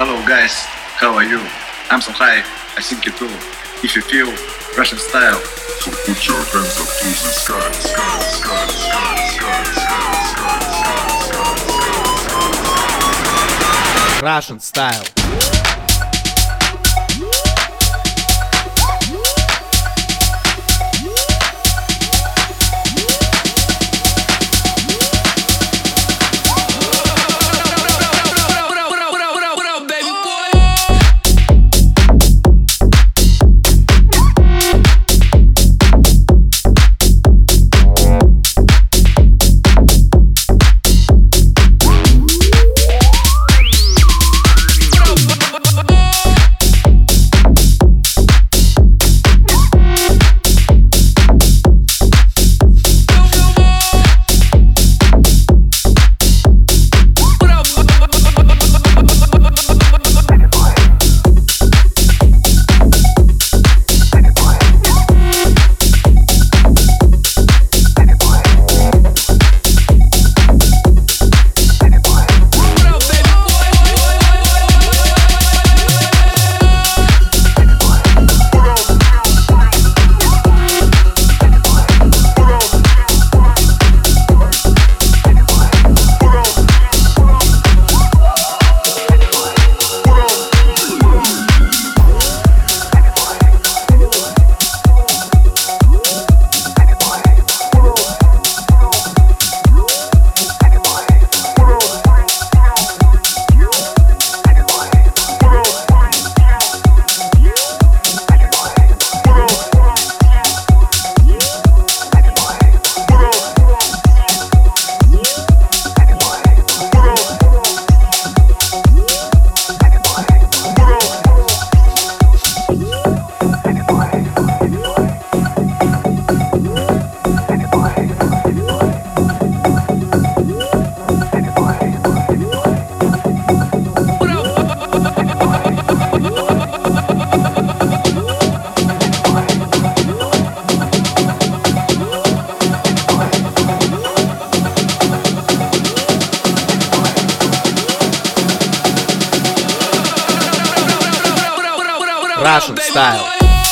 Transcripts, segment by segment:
Hello guys, how are you? I'm so high, I think you too. If you feel Russian style, so put your hands up to the sky, sky, sky, sky, sky, sky, sky, sky. Russian style. Russian style.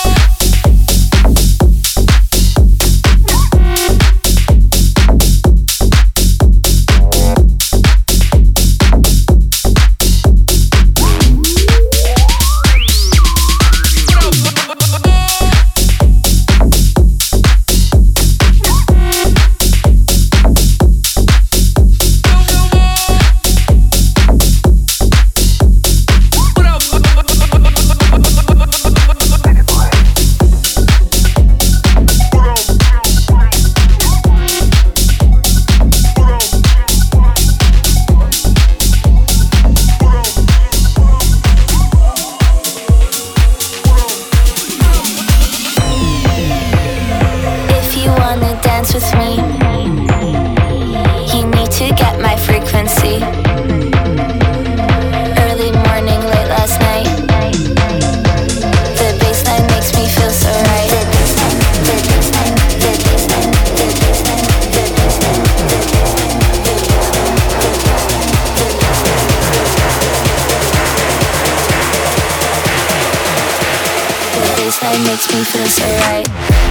Makes me feel so right.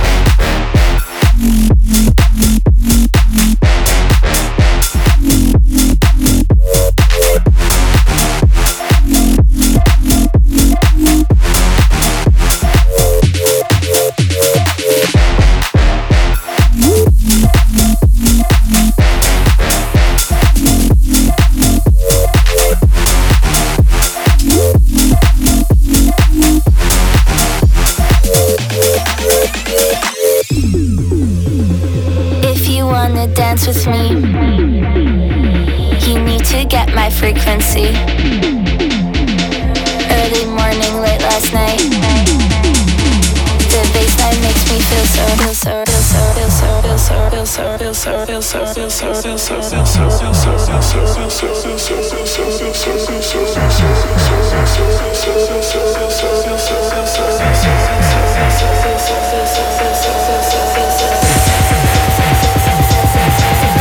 Dance with me. You need to get my frequency. Early morning, late last night. The bassline makes me feel so, feel so, feel so, feel so, feel so, feel so, feel so, feel so, feel so, feel so, feel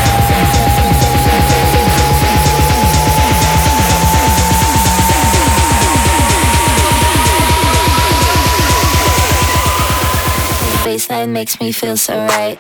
so. baseline makes me feel so right.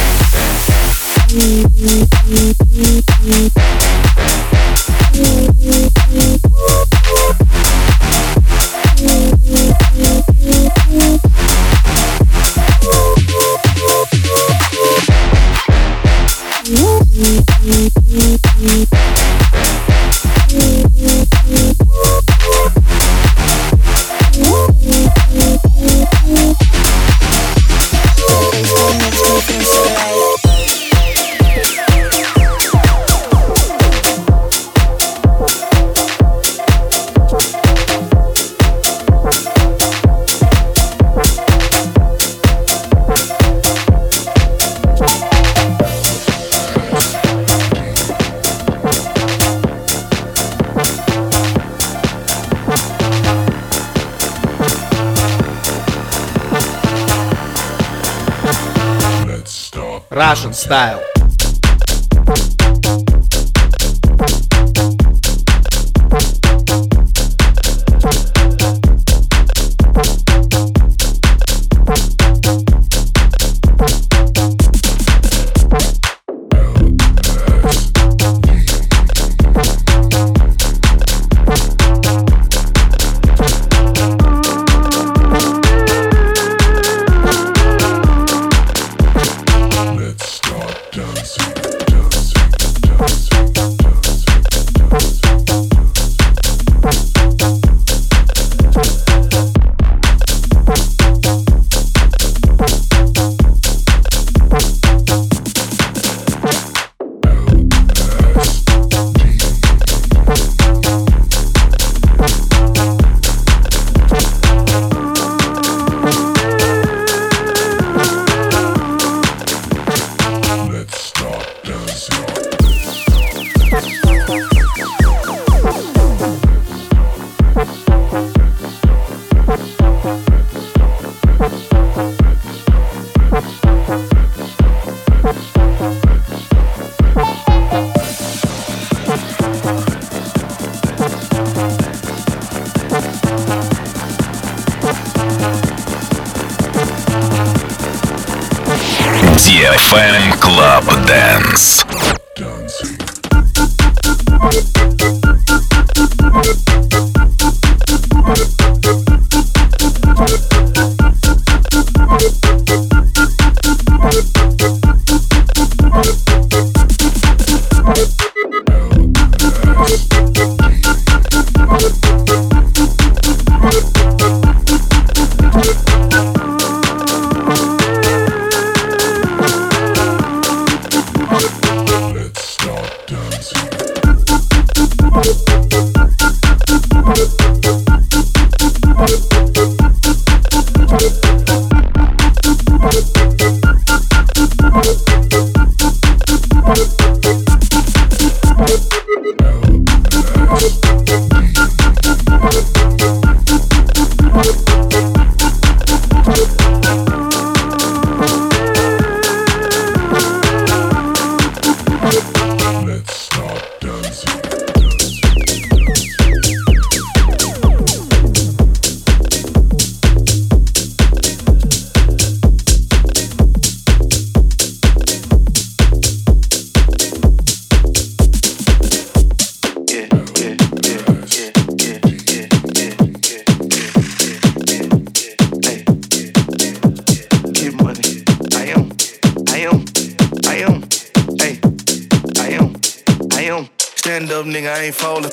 Russian style. DFM Club Dance. Stand up, nigga, I ain't falling.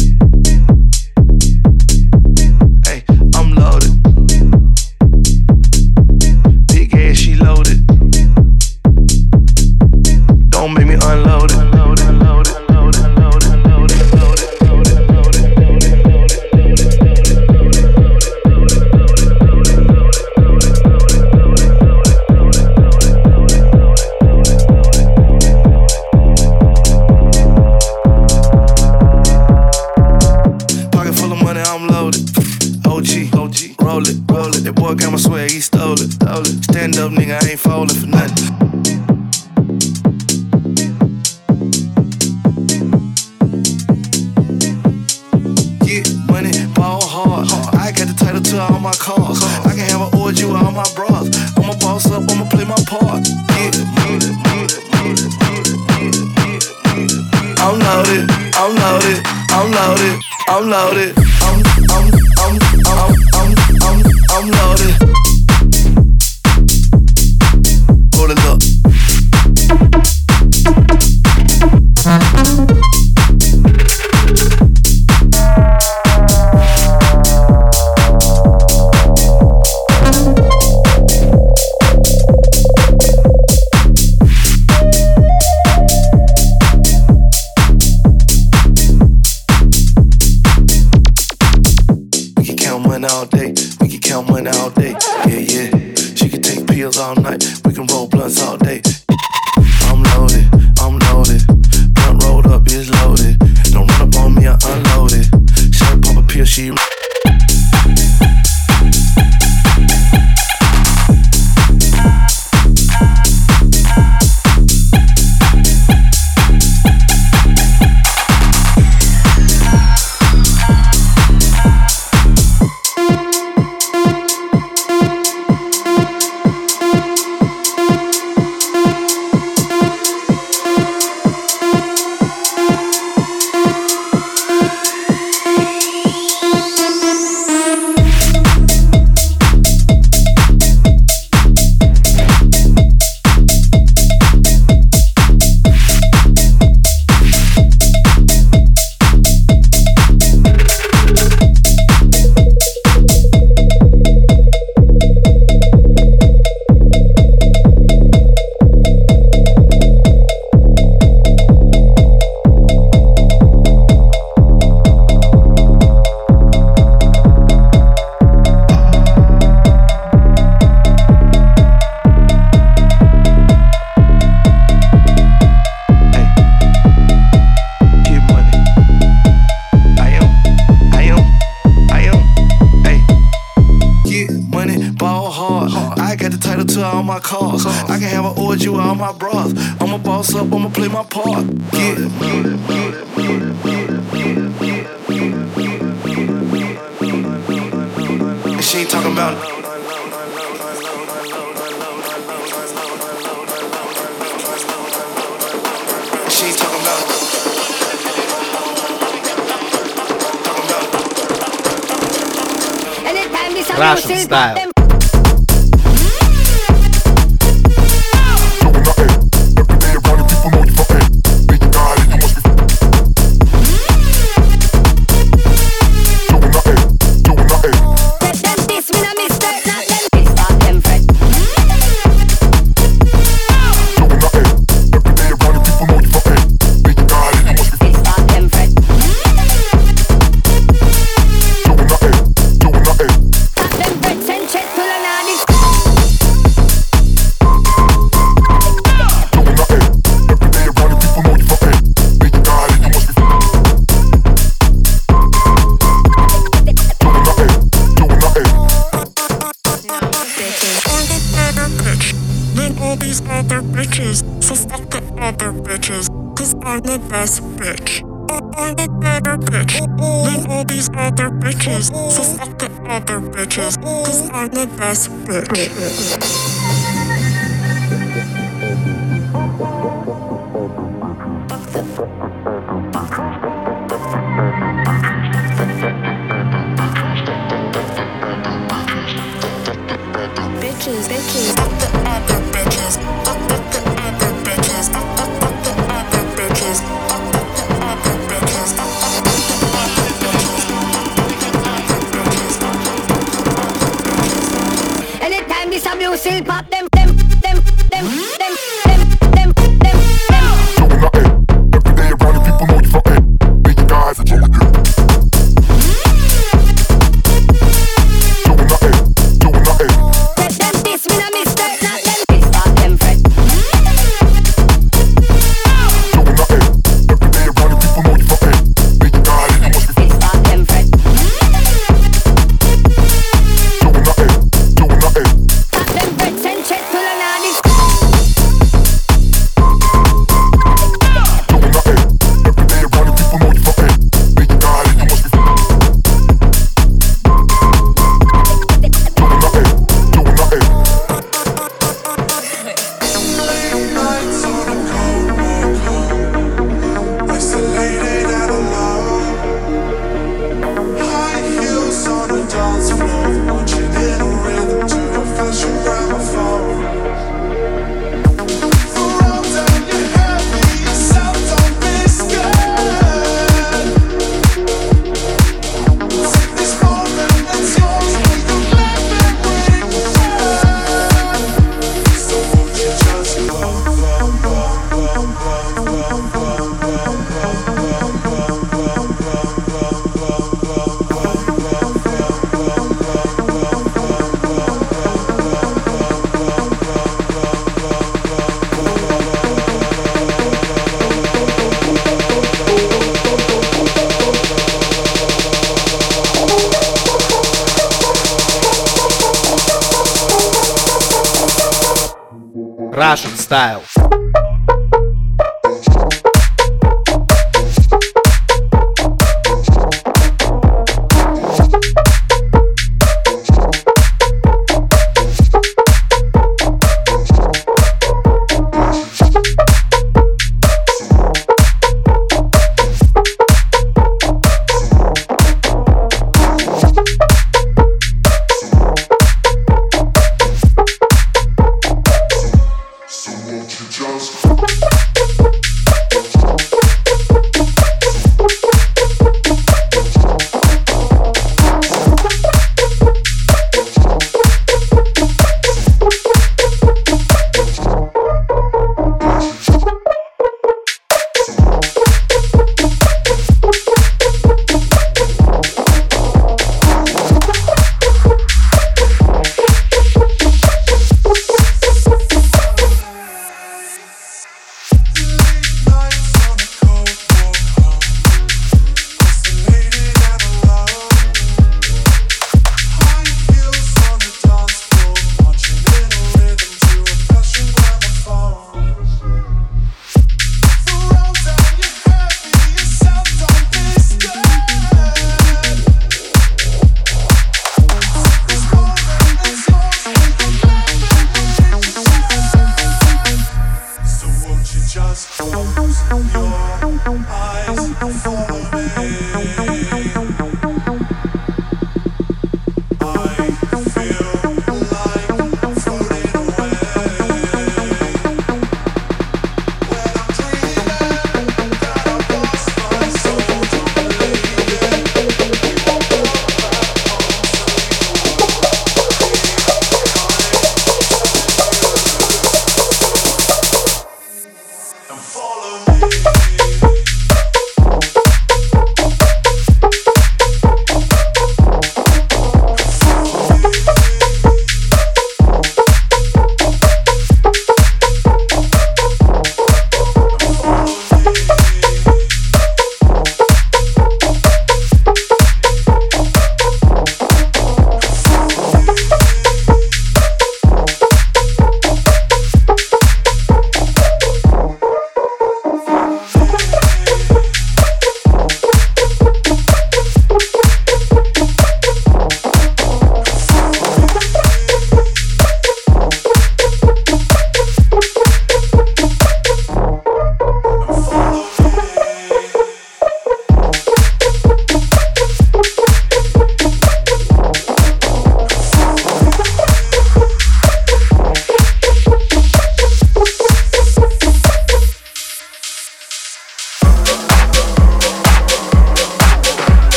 Hey, I'm loaded. Big ass, she loaded. Don't make me unload it. That boy got my swag, he stole it. Stand up, nigga, I ain't falling for nothing. Get money, ball hard. I got the title to all my cars. I can have an orgy with all my bras. I'm a boss up, loaded, I'm loaded, I'm loaded, I'm loaded, I'm loaded. Hold it up. All day, we can count money all day. Yeah, yeah. She can take pills all night. We can roll blunts all day. I'm loaded, I'm loaded. Blunt rolled up is loaded. Don't run up on me, I unloaded. Shirt pop a pill, she. I can have an orgy with all my bras. I'ma boss up, I'ma play my part. Yeah. And she ain't talking about it. She ain't talking about it. Russian style. I'm the best bitch. I'm the better bitch. Leave all these other bitches. So fuck the other bitches. Cause I'm the best bitch. Bitches, bitches, fuck the other bitches. Fuck the other bitches. Fuck the other bitches. Fuck the other bitches. Fuck the other bitches. Anytime this a music pop, them. Every day around the people know you fucking. Make your guys enjoy you. Check. Russian Style. So won't you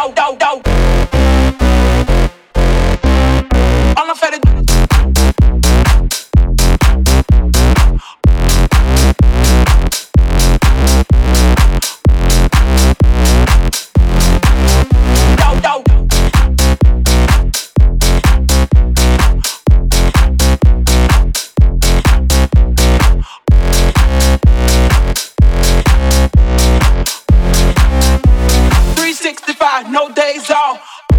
All I'm fed. 365, no days off.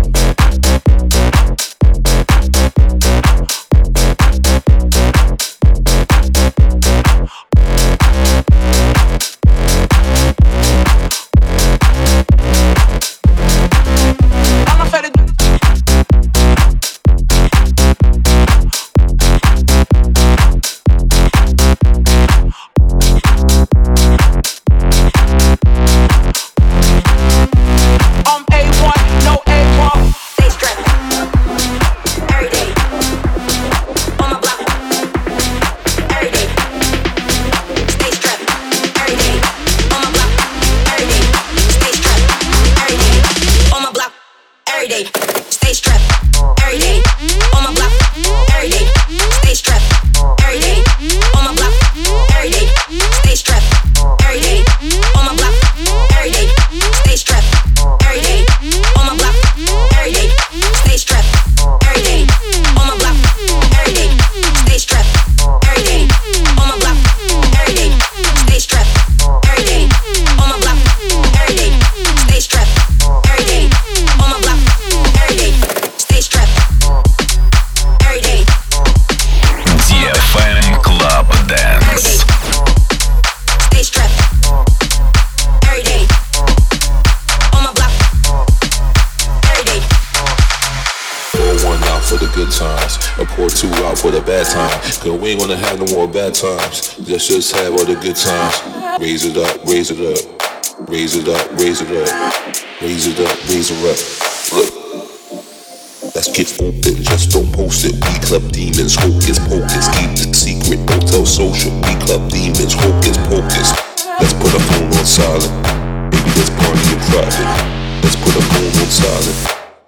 Cause we ain't gonna have no more bad times. Let's just have all the good times. Raise it up, raise it up. Raise it up, raise it up. Raise it up, raise it up. Look, let's get open, just don't post it. We club demons, hocus pocus. Keep the secret, don't tell social. We club demons, hocus pocus. Let's put a phone on silent. Maybe let's party in private. Let's put a phone on silent.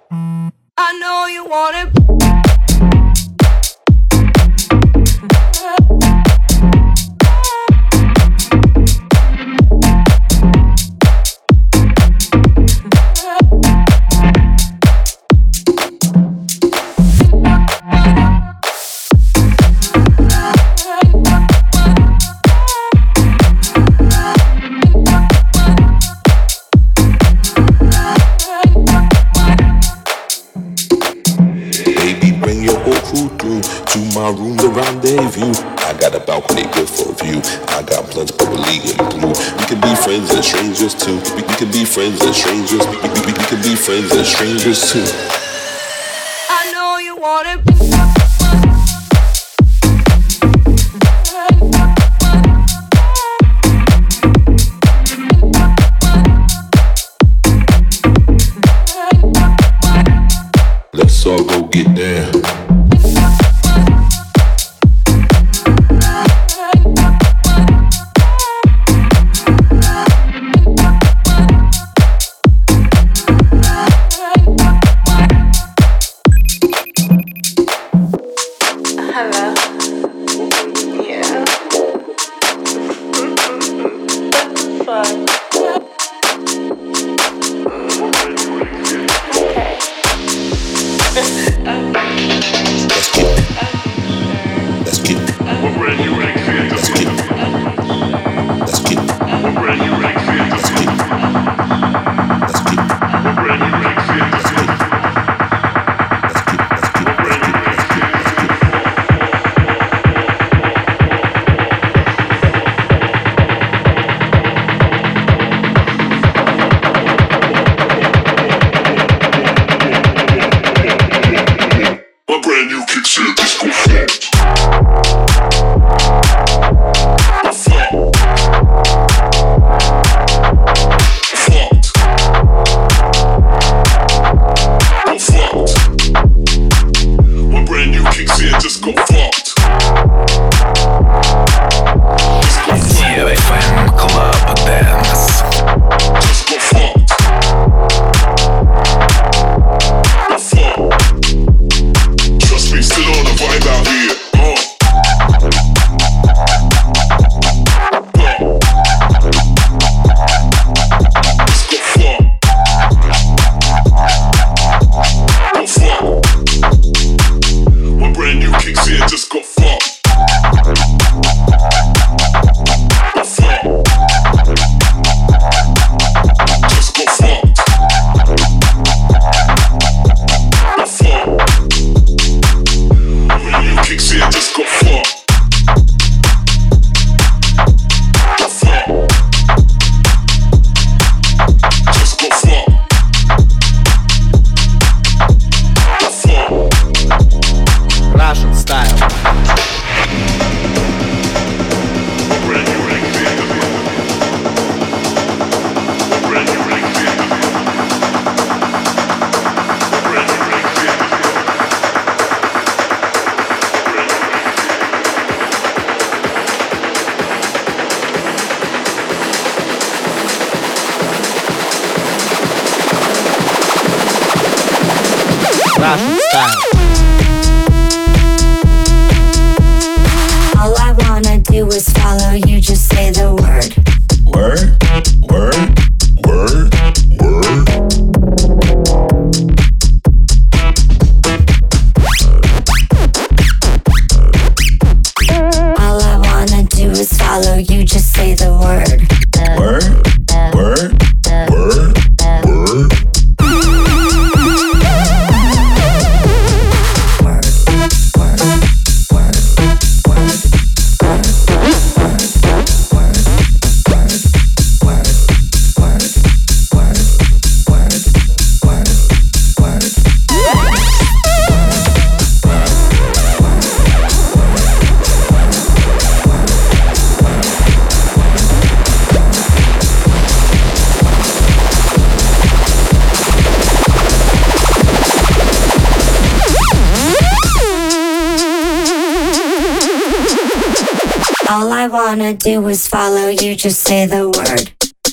I know you want it. My room, the rendezvous. I got a balcony good for a view. I got plans, but we're legally blue. We can be friends and strangers too. We can be friends and strangers. We can be friends and strangers too. I know you want it. Let's all go get down. Okay. Russian style. All I wanna do is follow you, just say the word. Word, word, word, word. All I wanna do is follow you, just say the word. Word, word, word, word. All I wanna do is follow you, just say the word.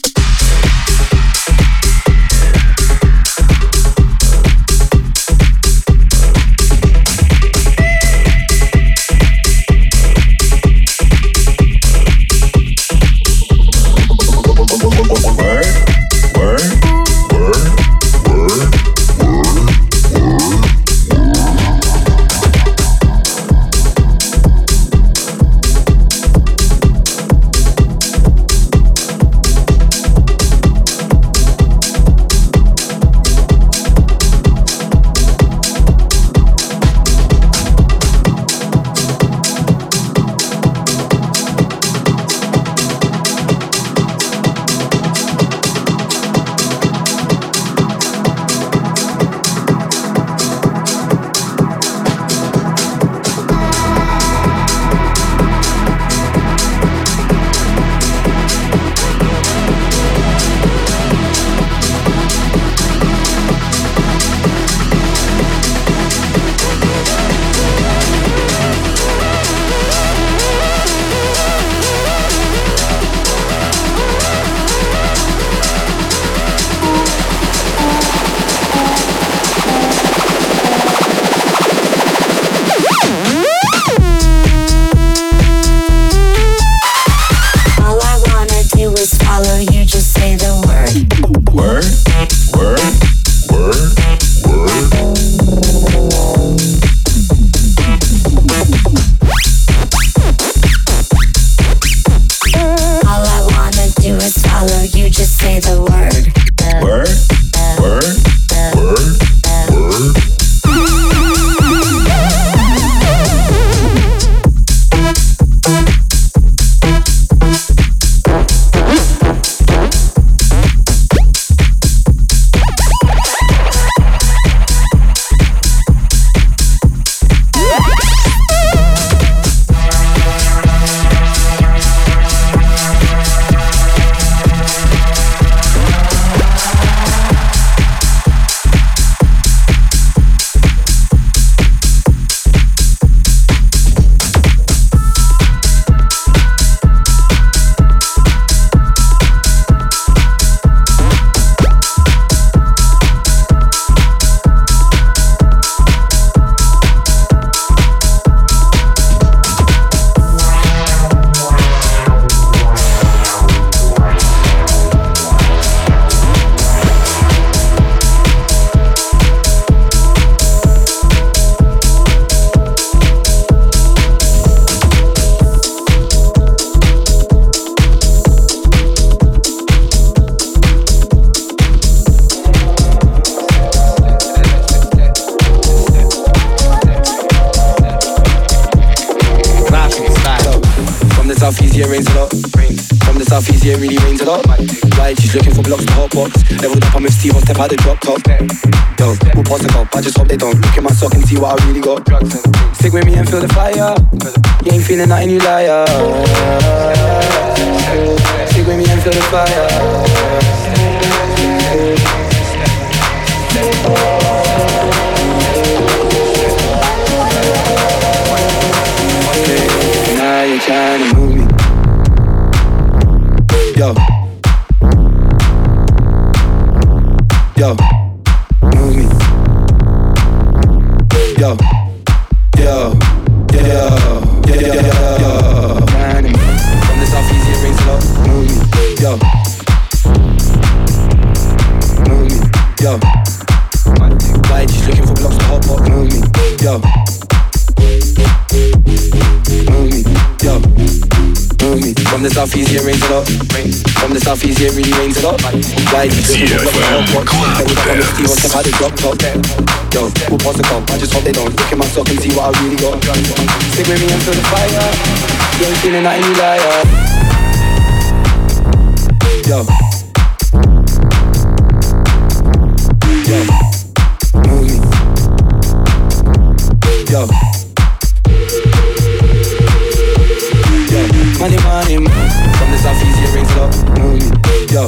southeast, yeah, rains a lot. From the southeast, yeah, really rains a lot. Right, she's looking for blocks to hot box. Leveled up, I'm with Steve, I'll step out the drop top. Yo, we'll pass the cup, I just hope they don't look at my sock and see what I really got. Stick with me and feel the fire. You ain't feeling nothing, you liar. Stick with me and feel the fire. Now you're trying to move me. Yo. Yo. Move me. yo, yo, yo, yo, yo, yo. From the south easy, it rings a lot. Move me, yo. Move me, yo. Why she's looking for blocks to hot pot? Move me, yo. Move me, yo. Move me. From the south easy, it rains a lot. From the south easy, it really rains a lot. Why she's looking for blocks to hot pot? Every time I'm with Steve, I'll step out the drop top. Yo, we'll pause the cup. I just hope they don't look in my sock and see what I really got. Stick with me and feel the fire. You ain't feeling that any liar. Yo. Yo. Move me. Yo. Yo. Money, money, from the south easy, it rings a lot. Move me. Yo.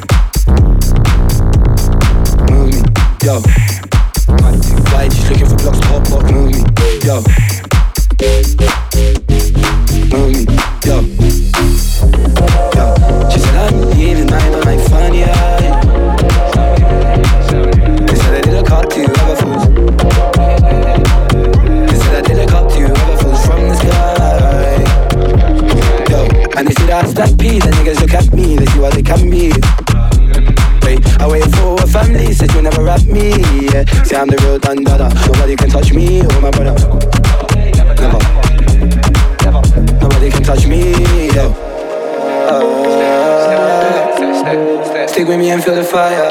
Move me. Yo. Why she's looking for blocks to hot pot? Move me. Yo. Move me. Yo. Yo. She said I'm leaving, I don't like funny eye. They said I did a cut to other fools. They said I did a cut to other fools from the sky. Yo. And they said I stack peas and niggas look at me, they see what they can be. I wait for a family, said you'll never rap me, yeah. Say I'm the real Dundada, nobody can touch me or my brother. Never. Nobody can touch me, yeah. Stick with me and feel the fire.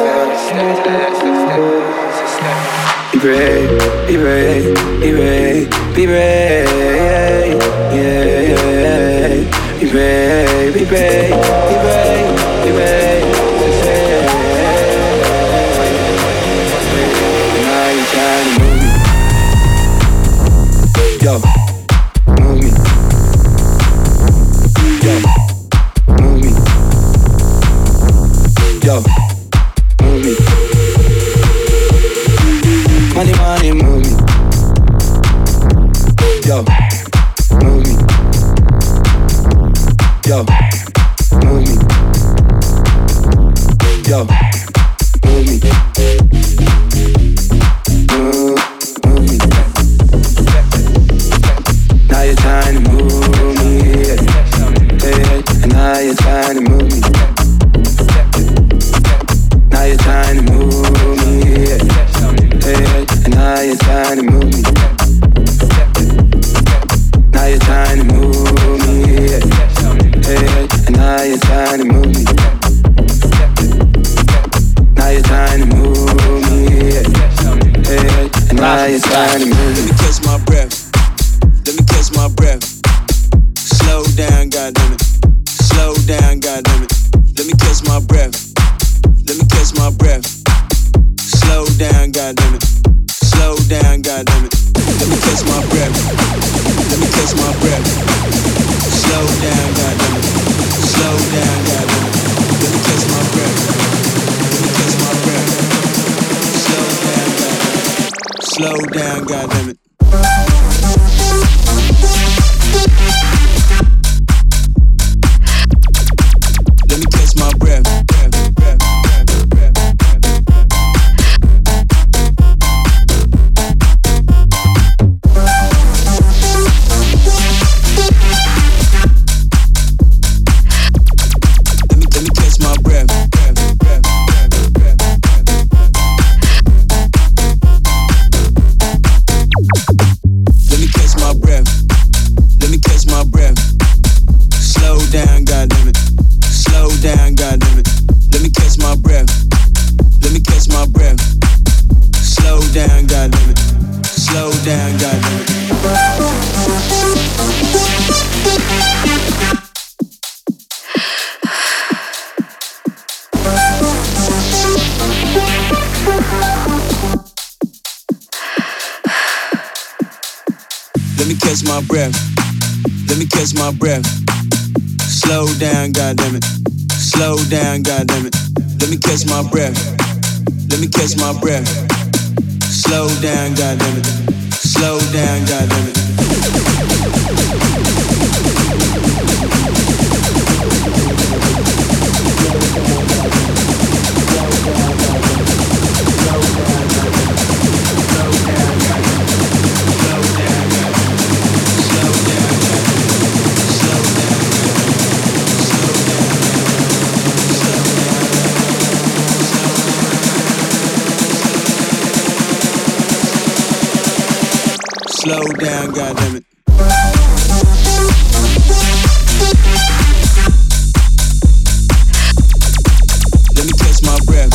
Be brave, be brave, be brave, be brave, yeah. Be brave, be brave, be brave, be brave. Yo, move me. Yo, move me. Yo, move me. Money, money, move me. Yo, move me. Yo, move me. Yo, move me. Move me. Now you're trying to move me, yeah. And now you're trying to move me. Now you're trying to move me, yeah. And now you're trying to move me. Now you're trying to move me, yeah. And now you're trying to move me. Now you're trying to move me, yeah. And now you're trying to move me. Let me catch my breath. Let me catch my breath. Slow down, goddammit. Slow down, goddammit. Let me catch my breath. Let me catch my breath. Slow down, goddammit. Slow down, goddammit. Let me catch my breath. Let me catch my breath. Slow down, goddammit. Slow down, goddammit. Let me catch my breath. Let me catch my breath. Slow down, goddammit. Slow down, goddammit. Let me catch my breath. Catch my breath. Let me catch my breath. Slow down, goddammit. Slow down, goddammit. Let me catch my breath. Let me catch my breath. Slow down, goddammit. Slow down, goddammit. Slow down, goddammit. Let me catch my breath.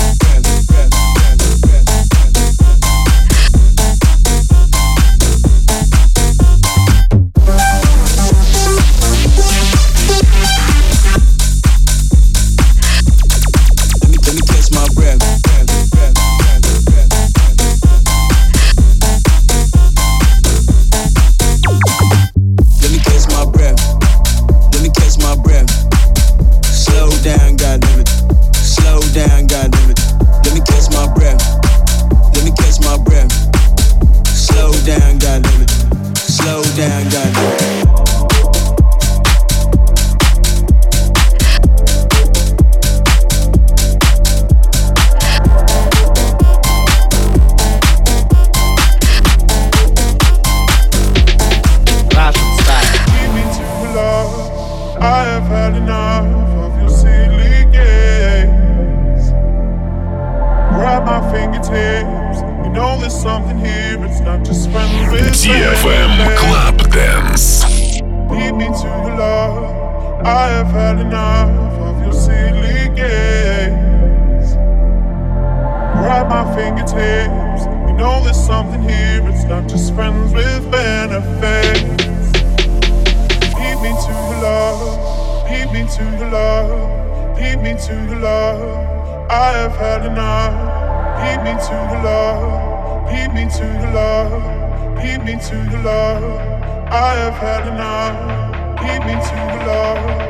DFM Club Dance. Lead me to your love. I have had enough of your silly games. Grab my fingertips. You know there's something here. It's not just friends with benefits. Lead me to your love. Lead me to your love. Lead me to your love. I have had enough. Lead me to your love. Lead me to your love. Lead me to your love. I have had enough. Lead me to your love.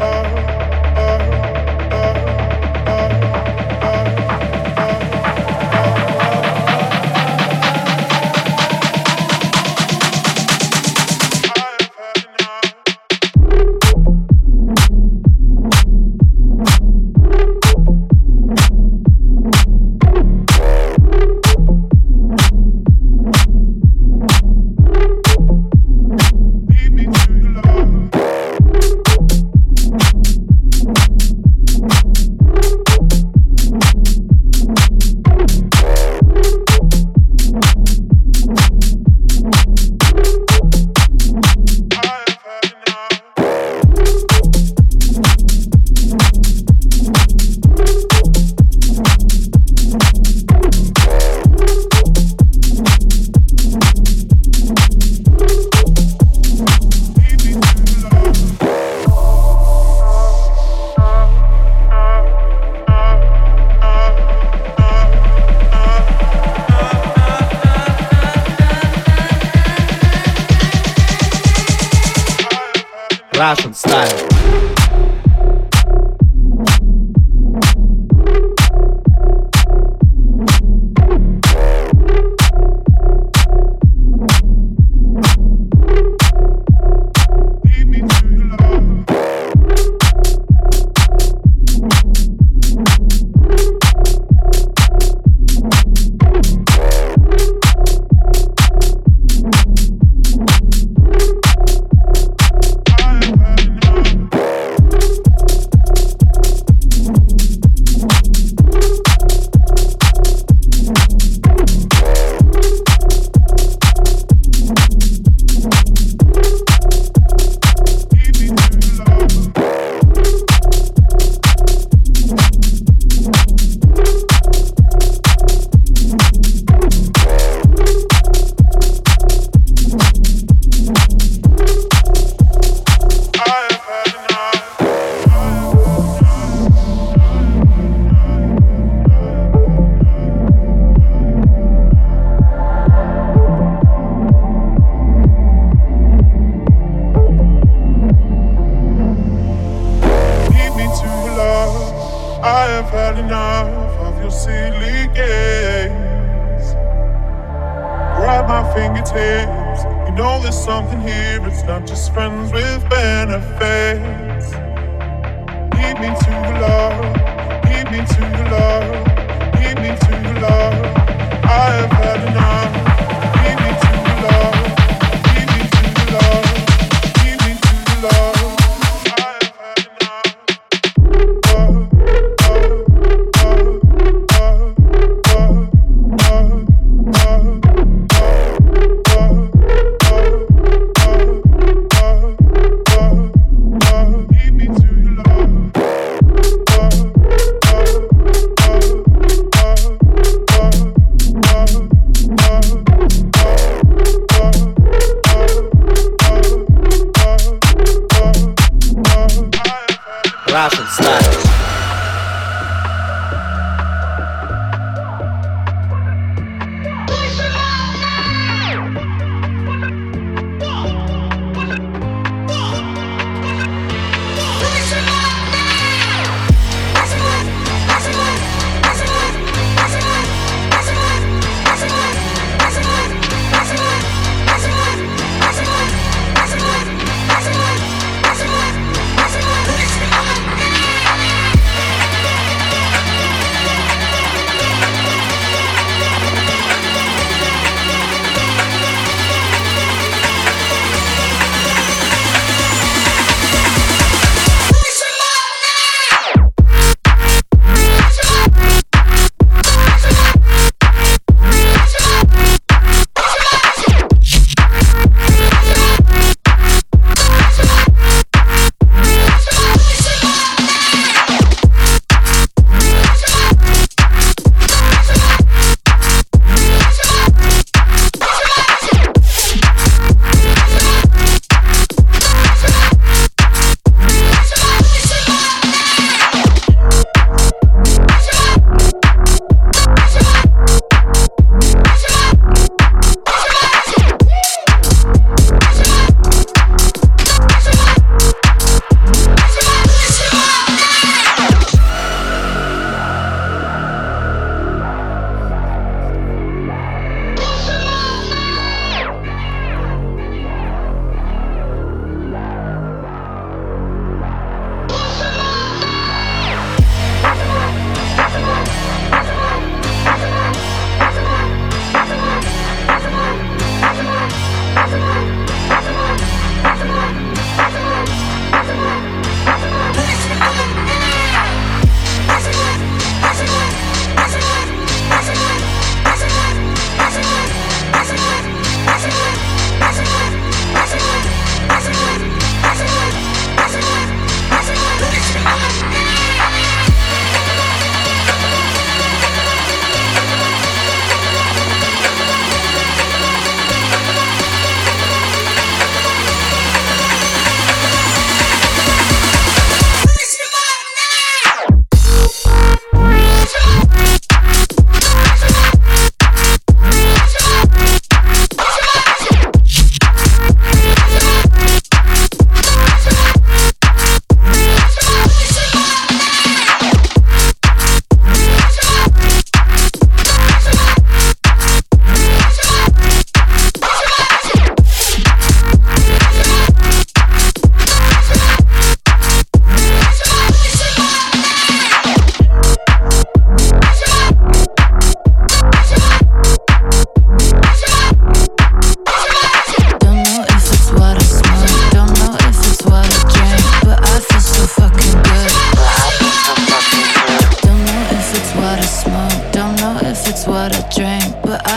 Russian style.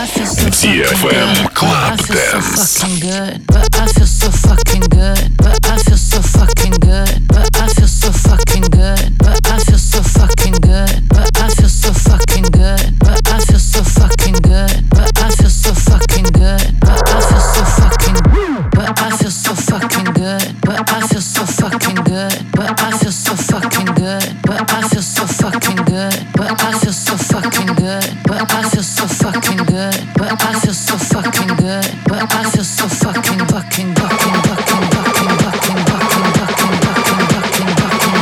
DFM Club Dance. But I feel so fucking good. But I feel so fucking good. But I feel so fucking good. But I feel so fucking good. But I feel so fucking good. But I feel so fucking good. But I feel so fucking good. But I feel so fucking. But I feel so fucking good. But I feel so fucking good. But I feel so fucking good. But I feel so fucking good. But I feel so fucking good. But I feel so fucking good. But I feel so fucking good. But I feel so fucking fucking fucking fucking fucking fucking fucking fucking fucking fucking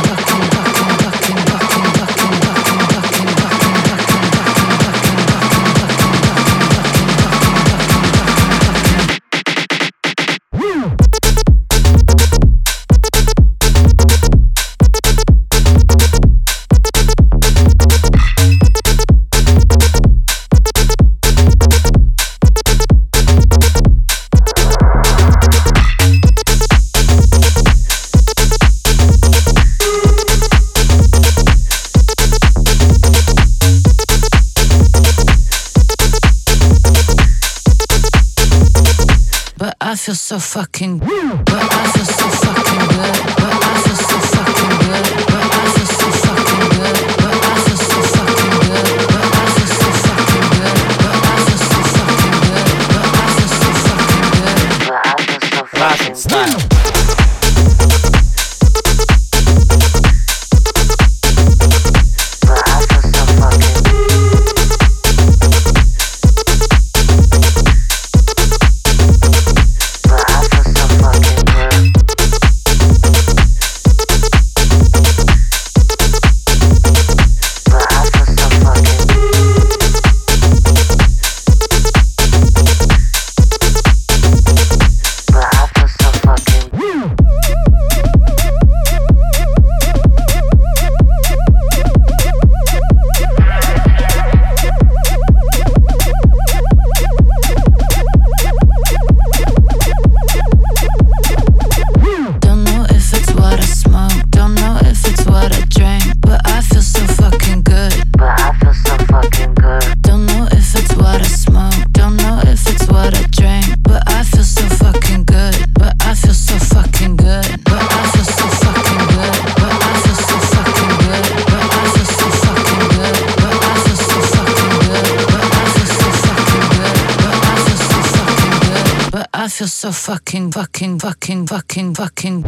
I feel so fucking, but I feel so fucking good. But I feel so fucking good. But I feel so fucking good. But I feel so fucking good. But I feel so fucking good. But I feel so fucking good. But I feel so fucking good. But I feel so fucking style. I feel so fucking fucking fucking fucking fucking.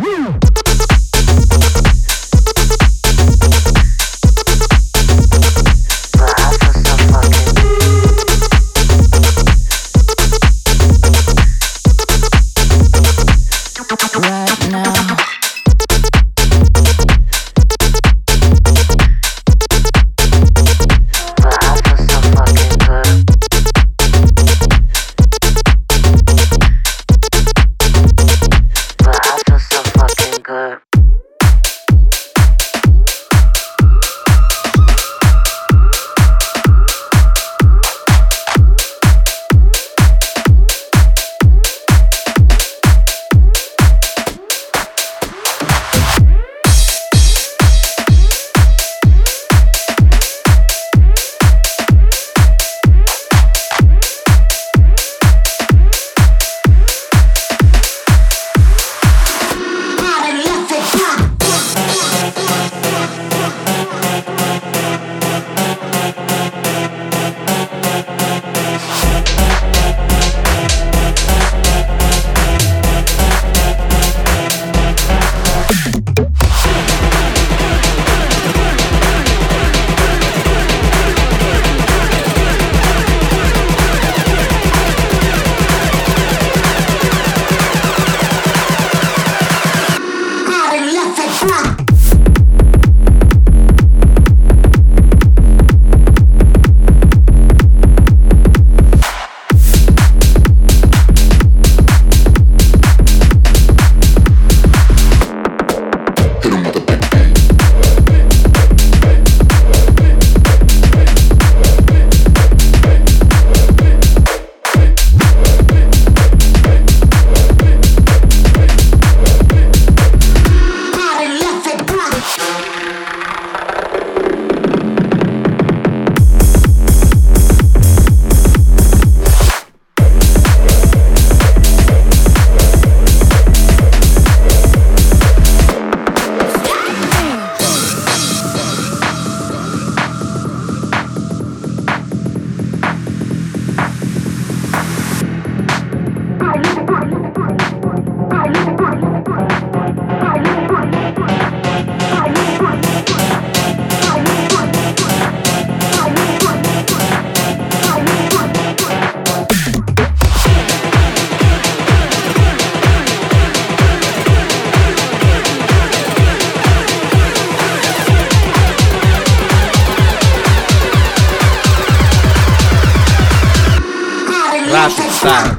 Russian style.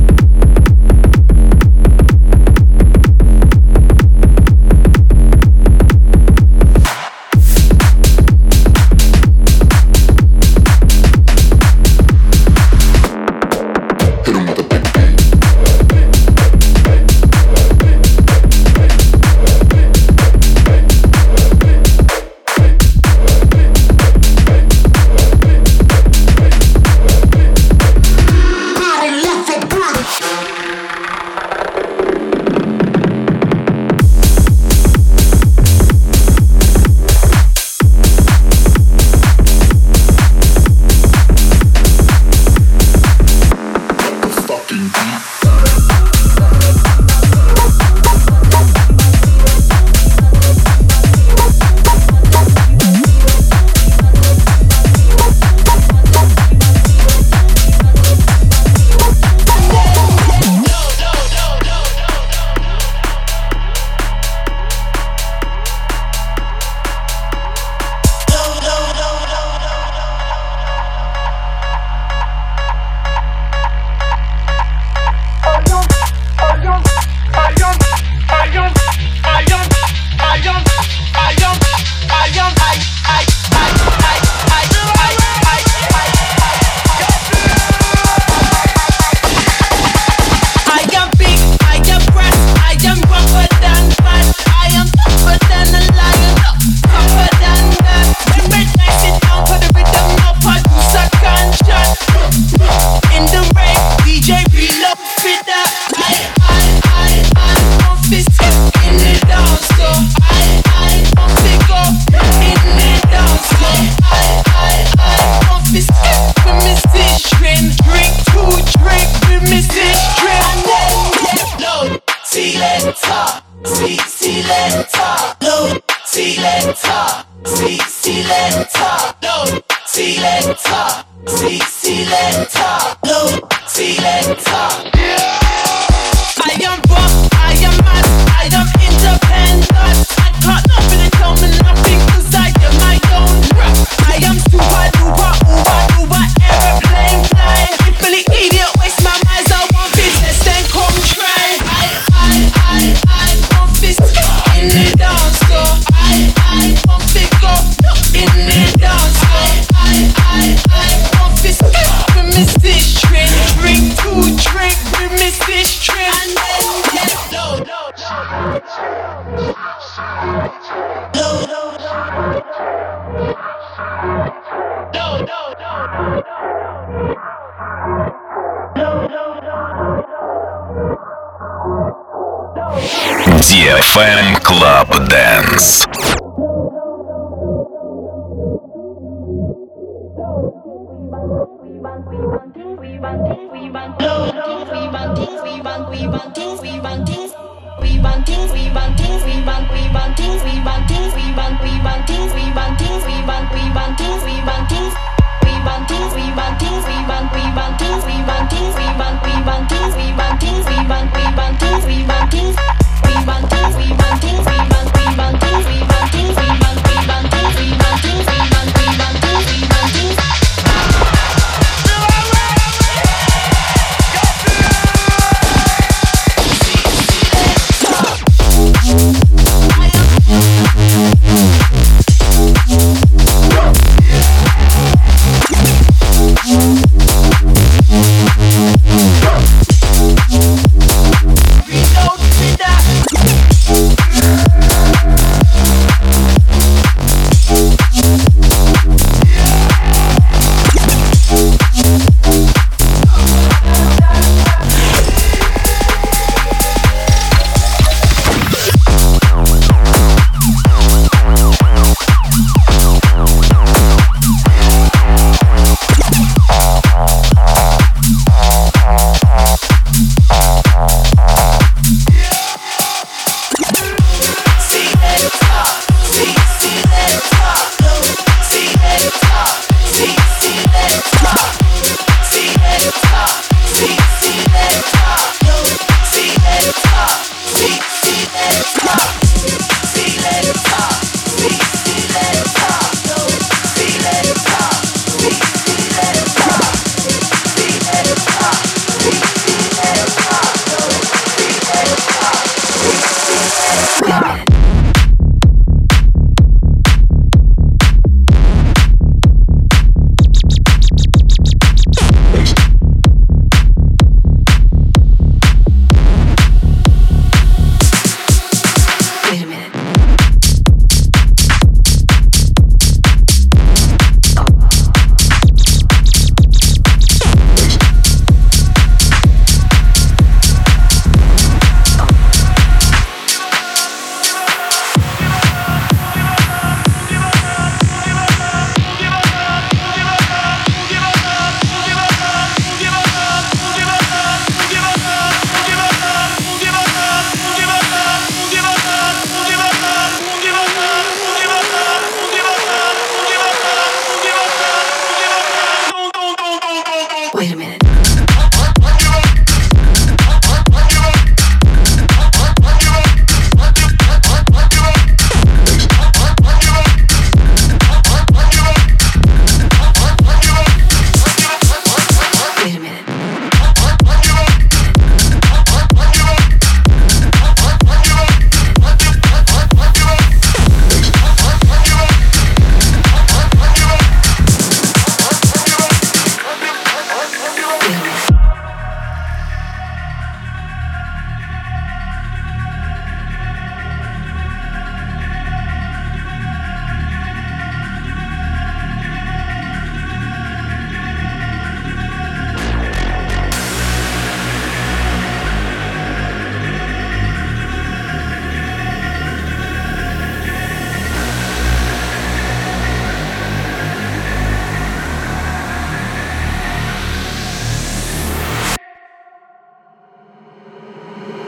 DFM Club Dance.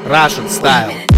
Russian Style.